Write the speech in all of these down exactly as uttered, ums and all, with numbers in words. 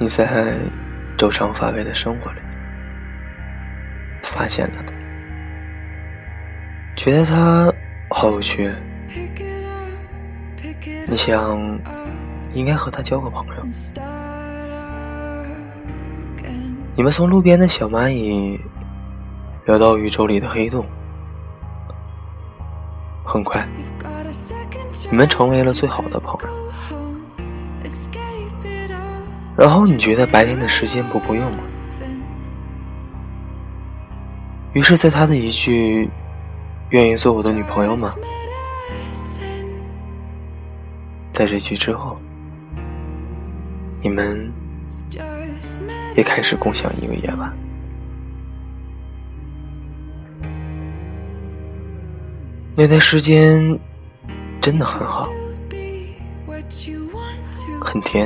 你在周长乏味的生活里发现了他，觉得他好有趣，你想应该和他交个朋友。你们从路边的小蚂蚁聊到宇宙里的黑洞，很快你们成为了最好的朋友。然后你觉得白天的时间不够用了，于是在他的一句愿意做我的女朋友吗，在这句之后，你们也开始共享一个夜晚。那段时间真的很好，很甜，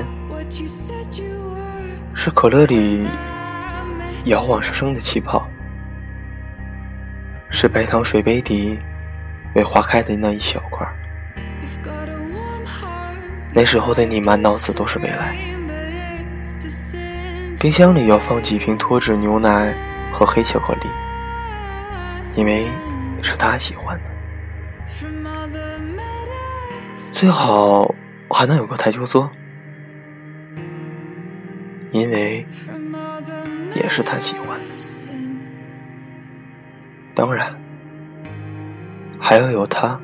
是可乐里摇往上升的气泡，是白糖水杯底未化开的那一小块。那时候的你满脑子都是未来，冰箱里要放几瓶脱脂牛奶和黑巧克力，因为是他喜欢的，最好还能有个台球桌，因为也是他喜欢的。当然还要有他，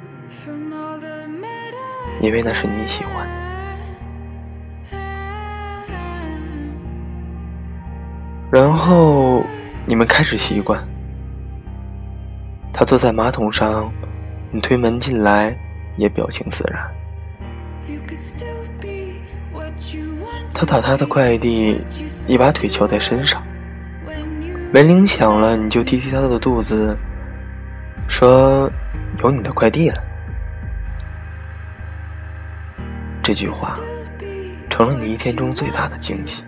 因为那是你喜欢的。然后你们开始习惯，他坐在马桶上，你推门进来也表情自然。他打他的快递，一把腿翘在身上，门铃响了，你就踢踢他的肚子，说有你的快递了。这句话成了你一天中最大的惊喜。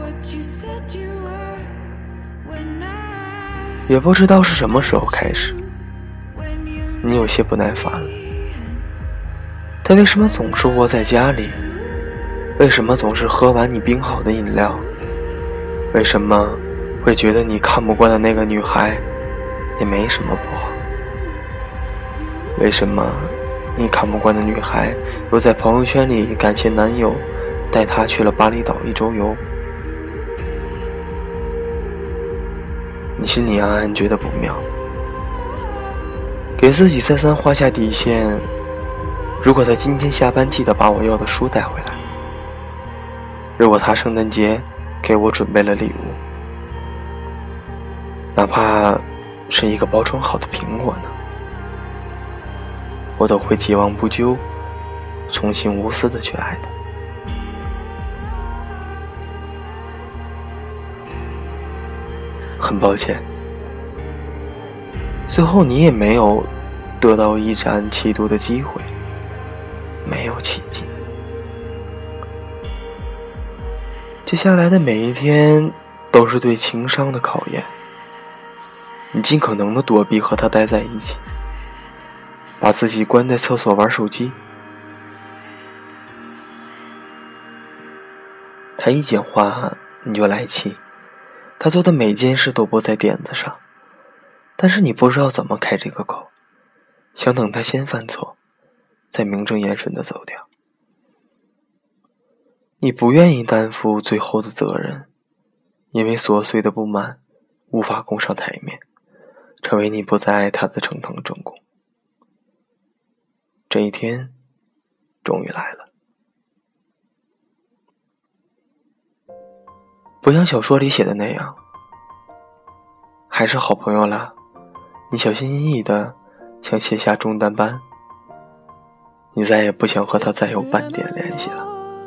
也不知道是什么时候开始，你有些不耐烦了。他为什么总是窝在家里？为什么总是喝完你冰好的饮料？为什么会觉得你看不惯的那个女孩也没什么不好？为什么你看不惯的女孩又在朋友圈里感谢男友带她去了巴厘岛一周游？你心里暗暗觉得不妙，给自己再三画下底线，如果他今天下班记得把我要的书带回来，如果他圣诞节给我准备了礼物，哪怕是一个包装好的苹果呢，我都会既往不咎，重新无私的去爱他。很抱歉，最后你也没有得到一展气度的机会，没有奇迹。接下来的每一天都是对情商的考验，你尽可能的躲避和他待在一起，把自己关在厕所玩手机。他一讲话你就来气，他做的每件事都不在点子上，但是你不知道怎么开这个口，想等他先犯错，再名正言顺地走掉。你不愿意担负最后的责任，因为琐碎的不满无法供上台面，成为你不再爱他的呈堂证供。这一天终于来了，不像小说里写的那样，还是好朋友啦，你小心翼翼的想卸下重担般，你再也不想和他再有半点联系了。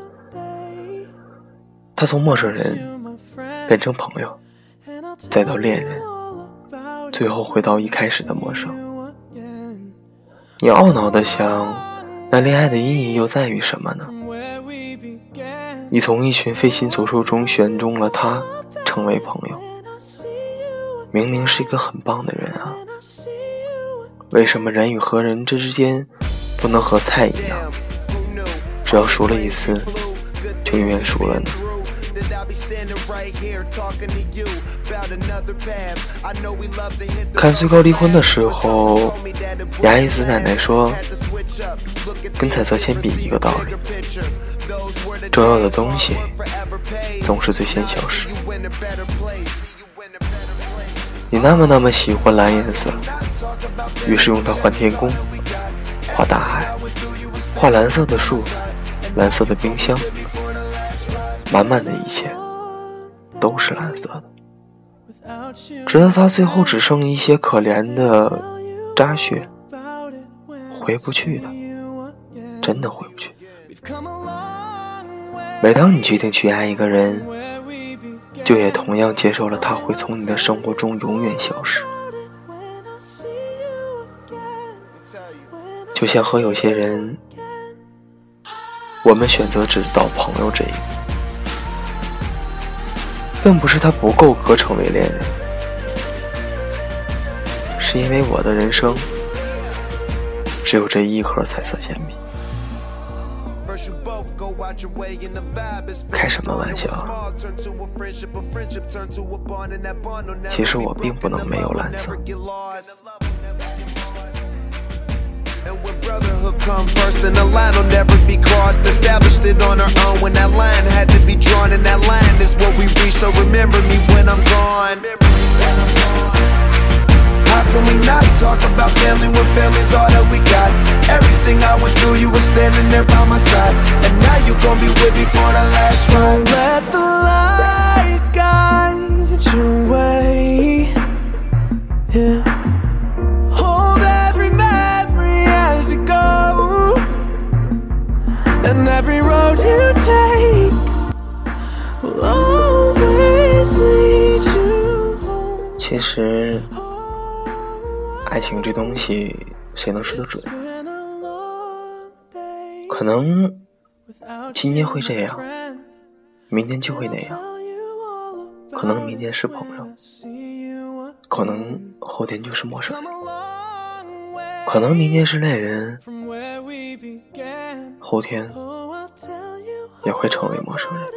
他从陌生人变成朋友，再到恋人，最后回到一开始的陌生。你懊恼地想，那恋爱的意义又在于什么呢？你从一群费心走兽中选中了他，成为朋友。明明是一个很棒的人啊，为什么人与和人之间不能和菜一样，只要熟了一次就永远熟了呢？ 看最高离婚的时候，牙医子奶奶说，跟彩色铅笔一个道理，重要的东西总是最先消失。你那么那么喜欢蓝颜色，于是用它画天空，画大海，画蓝色的树，蓝色的冰箱，满满的一切都是蓝色的，直到它最后只剩一些可怜的渣屑，回不去的，真的回不去。每当你决定去爱一个人，就也同样接受了他会从你的生活中永远消失。就像和有些人，我们选择只到朋友这一步，并不是他不够格成为恋人，是因为我的人生只有这一盒彩色铅笔。开什么玩笑啊，其实我并不能没有蓝色。Brotherhood come first and the line will never be crossed. Established it on our own when that line had to be drawn, and that line is what we reach, so remember me when I'm gone. How can we not talk about family when family's all that we got? Everything I went through, you were standing there by my side, and now you gon' be with me for the last ride. So let the light guide your way, yeah. Hold every memory as you go, and every road you take will always lead you home. 其实爱情这东西谁能说得准？可能今天会这样，明天就会那样，可能明天是朋友，可能后天就是陌生人，可能明天是恋人，后天也会成为陌生人。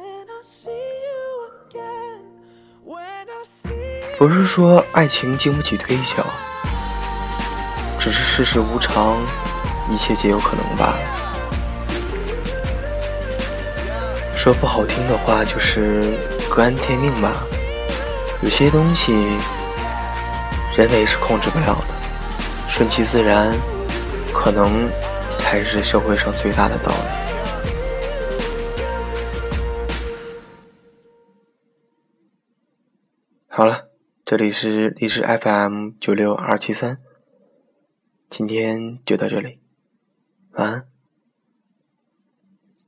不是说爱情经不起推敲，只是世事无常，一切皆有可能罢了。说不好听的话，就是各安天命吧。有些东西人为是控制不了的，顺其自然可能才是社会上最大的道理。好了，这里是荔枝 F M 九六二七三，今天就到这里，晚安。